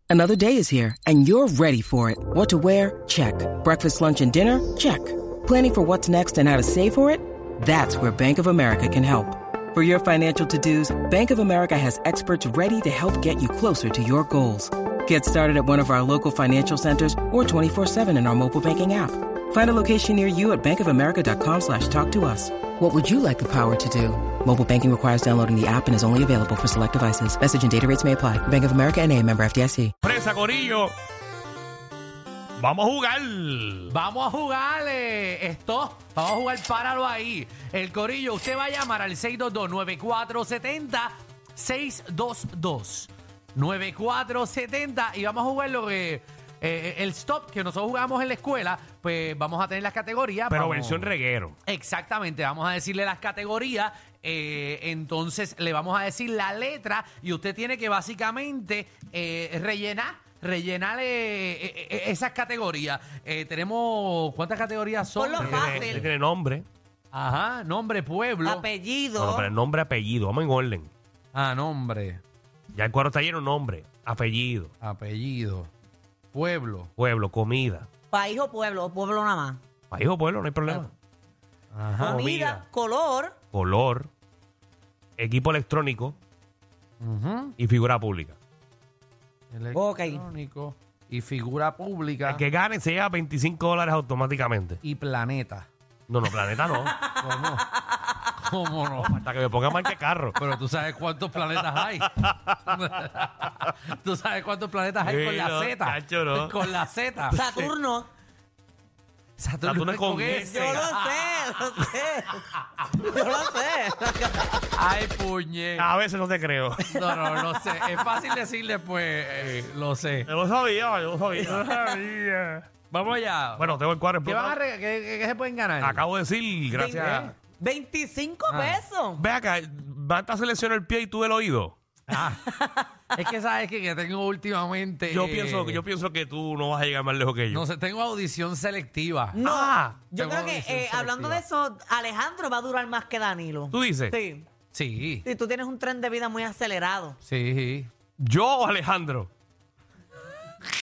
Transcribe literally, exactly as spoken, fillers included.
Another day is here, and you're ready for it. What to wear? Check. Breakfast, lunch, and dinner? Check. Planning for what's next and how to save for it? That's where Bank of America can help. For your financial to-dos, Bank of America has experts ready to help get you closer to your goals. Get started at one of our local financial centers or twenty-four seven in our mobile banking app. Find a location near you at bankofamerica.com slash talk to us. What would you like the power to do? Mobile banking requires downloading the app and is only available for select devices. Message and data rates may apply. Bank of America N A, member F D I C. Presa, corillo. Vamos a jugar. Vamos a jugar eh, esto. Vamos a jugar, páralo ahí. El corillo, usted va a llamar al seis dos dos, nueve cuatro siete cero, seis dos dos, nueve cuatro siete cero y vamos a jugar lo que eh, el stop que nosotros jugamos en la escuela. Pues vamos a tener las categorías. Pero vamos, versión reguero. Exactamente, vamos a decirle las categorías. Eh, entonces le vamos a decir la letra y usted tiene que básicamente eh, rellenar. Rellenarle eh, eh, esas categorías. Eh, tenemos, ¿cuántas categorías son? Ponlo Tiene, fácil. tiene nombre. Ajá, nombre, pueblo. Apellido. No, no, pero el nombre, apellido. Vamos en orden. Ah, nombre, Ya el cuadro está lleno, nombre, apellido, apellido, pueblo. pueblo, comida. País o pueblo, o pueblo nada más. País o pueblo, no hay problema. Ajá. Comida, Comida. color, Color, equipo electrónico Ujú. y figura pública. Electrónico y figura pública El que gane se lleva veinticinco dólares automáticamente. y planeta. No, no, planeta no. ¿Cómo? ¿Cómo no? Hasta que me ponga marca de carro. Pero tú sabes cuántos planetas hay. Tú sabes cuántos planetas hay Sí, con la no, Z. chacho, no. Con la Z. Saturno. Saturno es con S. Yo lo sé, lo sé. Yo lo sé. Ay, puñe. A veces no te creo. No, no, lo sé. Es fácil decirle, pues, eh, lo sé. Yo lo sabía, yo lo sabía. Vamos allá. Bueno, tengo el cuadro ¿Qué, van a explotado. re- qué- qué- qué se pueden ganar? Acabo de decir, gracias. veinticinco Ah. pesos. Ve acá, Banta selecciona el pie y tú el oído. Ah, es que sabes que, que tengo últimamente. Yo eh, pienso, yo pienso que tú no vas a llegar más lejos que yo. No sé, tengo audición selectiva. No, Ah, yo tengo creo que audición eh, hablando de eso, Alejandro va a durar más que Danilo. ¿Tú dices? Sí. Sí, Sí, tú tienes un tren de vida muy acelerado. sí. ¿Yo o Alejandro?